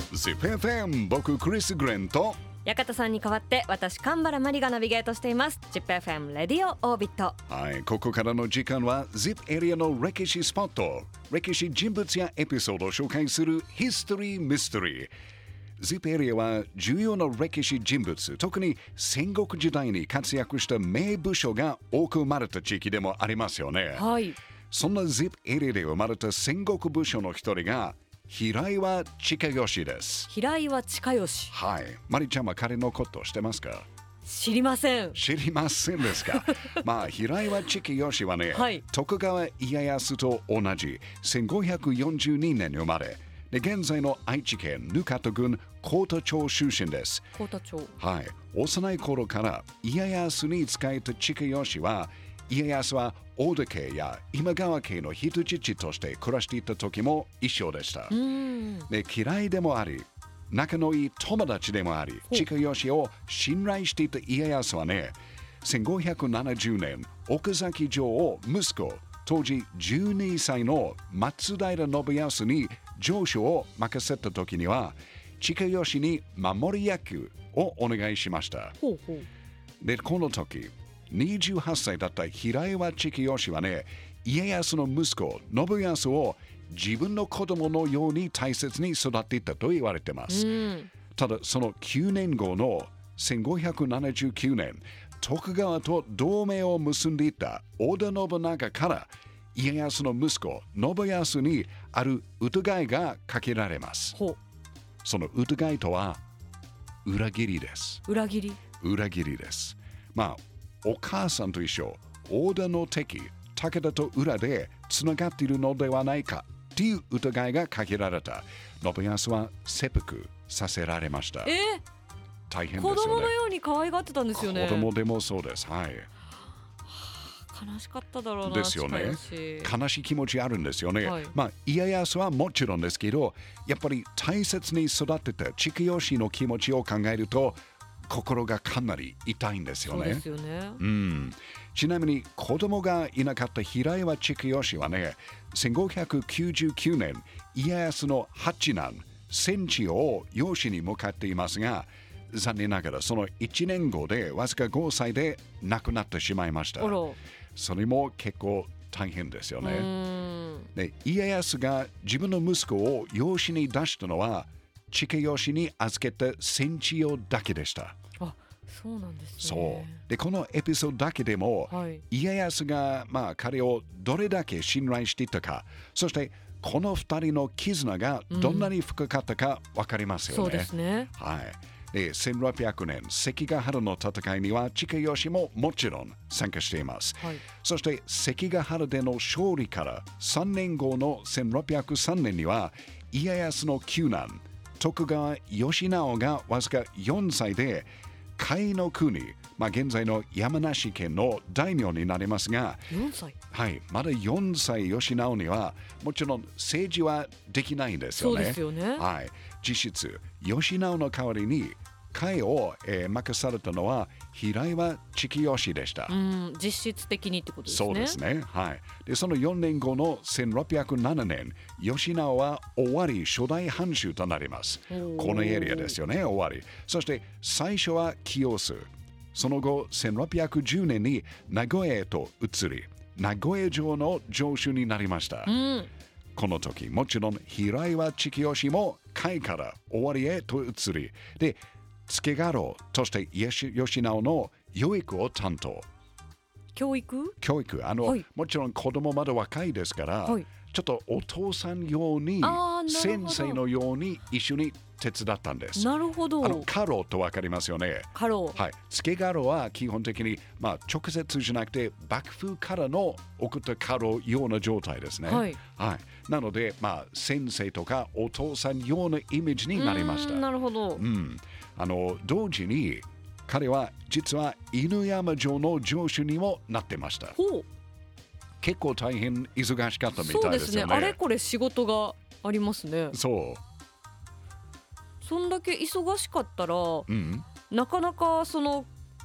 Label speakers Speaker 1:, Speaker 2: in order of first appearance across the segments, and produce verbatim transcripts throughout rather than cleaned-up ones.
Speaker 1: ジップ エフエム 僕クリス・グレンと
Speaker 2: 館さんに代わって私神原真理がナビゲートしています ジップエフエム レディオオービット。
Speaker 1: はい、ここからの時間は ジップ エリアの歴史スポット、歴史人物やエピソードを紹介するヒストリー・ミステリー。 ジップ エリアは重要な歴史人物、特に戦国時代に活躍した名武将が多く生まれた地域でもありますよね。
Speaker 2: はい、
Speaker 1: そんな ジップ エリアで生まれた戦国武将の一人が平岩親吉です。
Speaker 2: 平岩親吉。
Speaker 1: はい、マリちゃんは彼のこと知ってますか？
Speaker 2: 知りません。
Speaker 1: 知りませんですか？まあ平岩親吉はね、
Speaker 2: はい、
Speaker 1: 徳川家康と同じせんごひゃくよんじゅうにねんに生まれ、で現在の愛知県ぬかと郡幸田町出身です。
Speaker 2: 幸田町。
Speaker 1: はい、幼い頃から家康に仕えた親吉は、家康は大田家や今川家の人質として暮らしていた時も一緒でした。
Speaker 2: うん
Speaker 1: で嫌いでもあり、仲のいい友達でもあり、親吉を信頼していた家康はね、せんごひゃくななじゅうねん奥崎城を息子、当時じゅうにさいの松平信康に城主を任せた時には、親吉に守り役をお願いしました。
Speaker 2: ほうほう。
Speaker 1: でこの時にじゅうはっさいだった平岩親吉はね、家康の息子信康を自分の子供のように大切に育っていたと言われています。
Speaker 2: うん、
Speaker 1: ただそのきゅうねんごのせんごひゃくななじゅうきゅうねん、徳川と同盟を結んでいた織田信長から家康の息子信康にある疑いがかけられます。
Speaker 2: ほう。
Speaker 1: その疑いとは裏切りです。
Speaker 2: 裏切り。
Speaker 1: 裏切りです。まあお母さんと一緒、織田の敵武田と裏でつながっているのではないかという疑いがかけられた信康は切腹させられました。
Speaker 2: えー、
Speaker 1: 大変ですよね。
Speaker 2: 子供のように可愛がってたんですよね。
Speaker 1: 子供でもそうです。はい。
Speaker 2: 悲しかっただろうな。
Speaker 1: ですよね。悲しい気持ちあるんですよね。はい、まあ家康はもちろんですけど、やっぱり大切に育てた親吉の気持ちを考えると心がかなり痛いんですよね。
Speaker 2: そうですよね。
Speaker 1: うん。ちなみに子供がいなかった平岩親吉はね、せんごひゃくきゅうじゅうきゅうねん家康の八男千千代を養子に向かっていますが、残念ながらそのいちねんごでわずかごさいで亡くなってしまいました。それも結構大変ですよね。で家康が自分の息子を養子に出したのは親吉に預けた千千代だけでした。
Speaker 2: あ、そうなんですね。
Speaker 1: そうでこのエピソードだけでも、はい、家康が、まあ、彼をどれだけ信頼していたか、そしてこの二人の絆がどんなに深かったか分かりますよね。
Speaker 2: うん、そうですね。
Speaker 1: はい。でせんろっぴゃくねん関ヶ原の戦いには親吉ももちろん参加しています。はい、そして関ヶ原での勝利からさんねんごのせんろっぴゃくさんねんには家康の九男徳川義直がわずかよんさいで甲斐の国、まあ、現在の山梨県の大名になりますが、
Speaker 2: よんさい、
Speaker 1: はい、まだよんさい義直にはもちろん政治はできないんですよね。
Speaker 2: そうですよね。
Speaker 1: はい、実質義直の代わりに甲斐を、えー、任されたのは平岩親吉でした。
Speaker 2: うん、実質的にってことですね。
Speaker 1: そうですね。はい。で、そのよねんごのせんろっぴゃくななねん、義直は尾張初代藩主となります。このエリアですよね、尾張。そして最初は清須。その後、せんろっぴゃくじゅうねんに名古屋へと移り、名古屋城の城主になりました。
Speaker 2: うん、
Speaker 1: この時、もちろん平岩親吉も甲斐から尾張へと移り、で、付家老として義直の養育を担当。
Speaker 2: 教育
Speaker 1: 教育あの、はい、もちろん子供まだ若いですから、はい、ちょっとお父さんように先生のように一緒に手伝ったんです。
Speaker 2: なるほど。
Speaker 1: あの家老と分かりますよね。
Speaker 2: 家老、
Speaker 1: はい、付家老は基本的に、まあ、直接じゃなくて幕府からの送った家老ような状態ですね。はいはい、なので、まあ、先生とかお父さんようなイメージになりました。
Speaker 2: なるほど。
Speaker 1: うん、あの同時に彼は実は犬山城の城主にもなってました。
Speaker 2: ほう。
Speaker 1: 結構大変忙しかったみたいですよね。
Speaker 2: そうですね。あれこれ仕事がありますね。
Speaker 1: そう。
Speaker 2: そんだけ忙しかったら、
Speaker 1: うん、
Speaker 2: なかなかその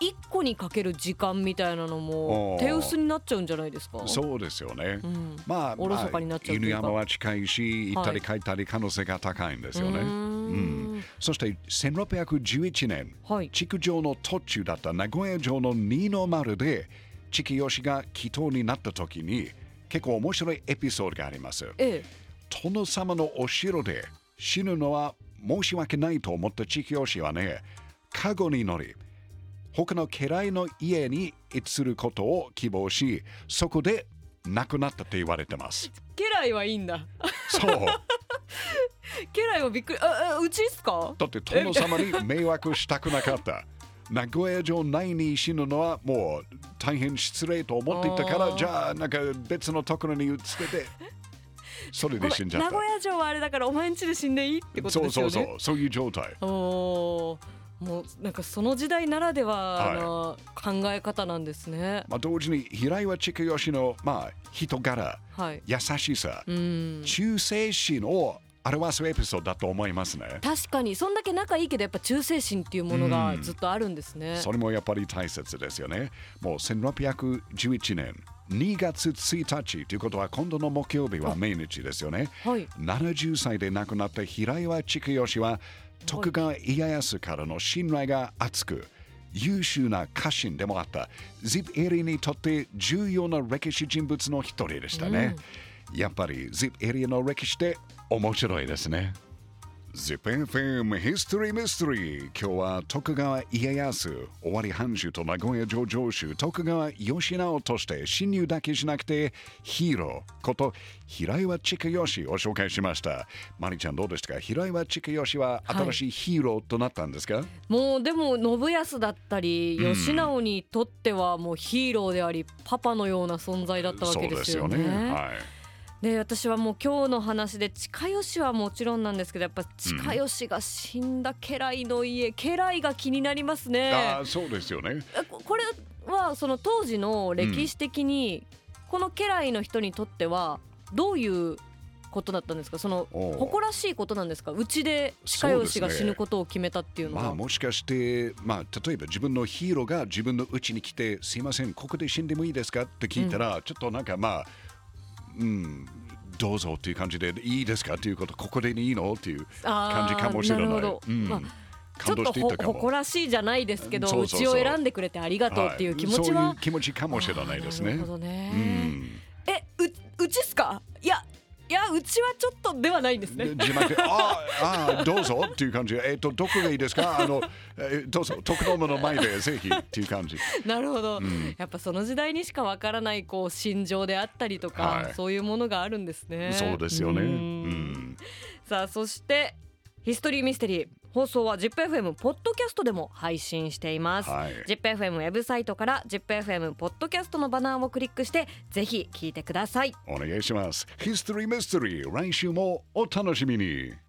Speaker 2: いっこにかける時間みたいなのも手薄になっちゃうんじゃないですか。
Speaker 1: そうですよね、
Speaker 2: うん、
Speaker 1: まあ、
Speaker 2: おろそかになっちゃうというか、
Speaker 1: 犬山は近いし行ったり帰ったり可能性が高いんですよね、
Speaker 2: はい、うーん、
Speaker 1: うん、そしてせんろっぴゃくじゅういちねん、はい、築城の途中だった名古屋城の二の丸で地木義が祈祷になった時に結構面白いエピソードがあります、ええ、殿様のお城で死ぬのは申し訳ないと思った地木義はね、カゴに乗り他の家来の家に移ることを希望し、そこで亡くなったって言われてます。
Speaker 2: 家来はいいんだ。
Speaker 1: そう。
Speaker 2: 家来はびっくり。あ、あ、うちっすか？
Speaker 1: だって殿様に迷惑したくなかった。名古屋城内に死ぬのはもう大変失礼と思っていたから、じゃあなんか別のところに移ってて、それで死んじゃった。
Speaker 2: 名古屋城はあれだからお前ん家で死んでいいってことですよね。
Speaker 1: そうそうそう、そういう状態。
Speaker 2: おー、もうなんかその時代ならではの考え方なんですね、はい、
Speaker 1: まあ、同時に平岩筑義の、まあ、人柄、はい、優しさ、うん、忠誠心を表すエピソードだと思いますね。
Speaker 2: 確かにそんだけ仲いいけどやっぱ忠誠心っていうものがずっとあるんですね、うん、
Speaker 1: それもやっぱり大切ですよね。もうせんろっぴゃくじゅういちねんにがつついたちということは今度の木曜日は命日ですよね、はい、ななじゅっさいで亡くなった平岩筑義は徳川家康からの信頼が厚く優秀な家臣でもあったジップエリーにとって重要な歴史人物の一人でしたね、うん、やっぱりジップエリーの歴史って面白いですね。 ジップ エフエム History Mystery、 今日は徳川家康尾張藩主と名古屋城城主徳川義直として侵入だけしなくてヒーローこと平岩筑義を紹介しました。マリちゃんどうでしたか？平岩筑義は新しいヒーローとなったんですか？はい、
Speaker 2: もうでも信康だったり義直にとってはもうヒーローであり、うん、パパのような存在だったわけですよね。そうですよね、はい。で私はもう今日の話で近吉はもちろんなんですけど、やっぱ近吉が死んだ家来の家、うん、家来が気になりますね。
Speaker 1: あ、そうですよね。
Speaker 2: これはその当時の歴史的に、うん、この家来の人にとってはどういうことだったんですか？その誇らしいことなんですか？うちで近吉が死ぬことを決めたっていうのは、
Speaker 1: まあ、もしかして、まあ、例えば自分のヒーローが自分のうちに来てすいませんここで死んでもいいですかって聞いたら、うん、ちょっとなんかまあうん、どうぞっていう感じでいいですかっていうこと、ここでいいのっていう感じかもしれない。なるほど、うん、まあ、
Speaker 2: ちょっと誇らしいじゃないですけど、うちを選んでくれてありがとうっていう気持ちは、はい、
Speaker 1: そういう気持ちかもしれないですね。
Speaker 2: なるほどね、うん、え、う、うちっすか？いやいや、うちはちょっとではないんですね。
Speaker 1: 字幕ああどうぞっていう感じ。えっとどこがいいですか？あの、えー、どうぞ徳友の前でぜひっていう感じ。
Speaker 2: なるほど、うん、やっぱその時代にしかわからないこう心情であったりとか、はい、そういうものがあるんですね。
Speaker 1: そうですよね。うん、
Speaker 2: さあそしてヒストリーミステリー放送は ジップエフエム ポッドキャストでも配信しています、はい、ジップエフエム ウェブサイトから ジップエフエム ポッドキャストのバナーをクリックしてぜひ聞いてください。
Speaker 1: お願いします。ヒストリーミステリー来週もお楽しみに。